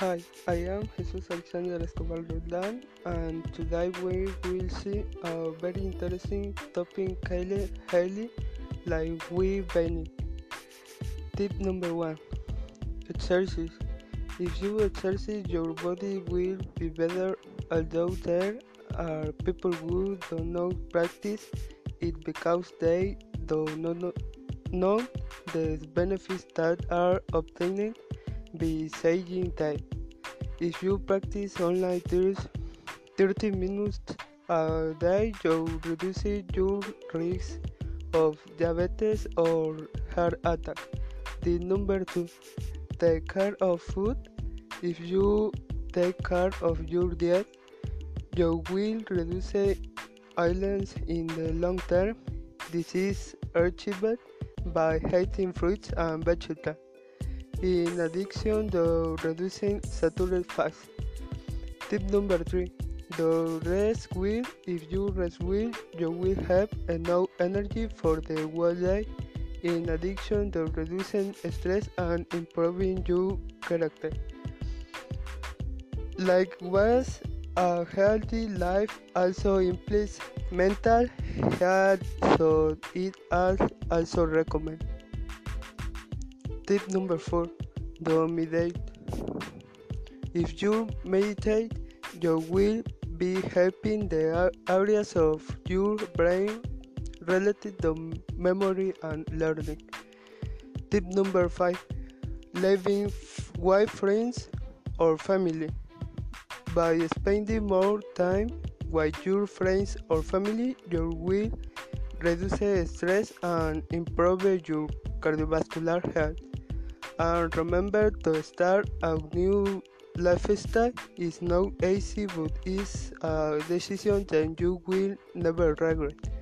Hi, I am Jesus Alexander Escobar Roldán, and today we will see a very interesting topic highly like we Benny. Tip number 1: exercise. If you exercise, your body will be better. Although there are people who do not practice it because they do not know the benefits that are obtained by saying that. If you practice online 30 minutes a day, you reduce your risk of diabetes or heart attack. The number 2: take care of food. If you take care of your diet, you will reduce illness in the long term. This is achieved by eating fruits and vegetables. In addition to reducing saturated fats. Tip number 3: the rest well. If you rest well, you will have enough energy for the whole day. In addition to reducing stress and improving your character. Likewise, a healthy life also implies mental health, so it is also recommended. Tip number 4: don't meditate. If you meditate, you will be helping the areas of your brain related to memory and learning. Tip number 5: living with friends or family. By spending more time with your friends or family, you will reduce stress and improve your cardiovascular health. And remember to start a new lifestyle is not easy, but it's a decision that you will never regret.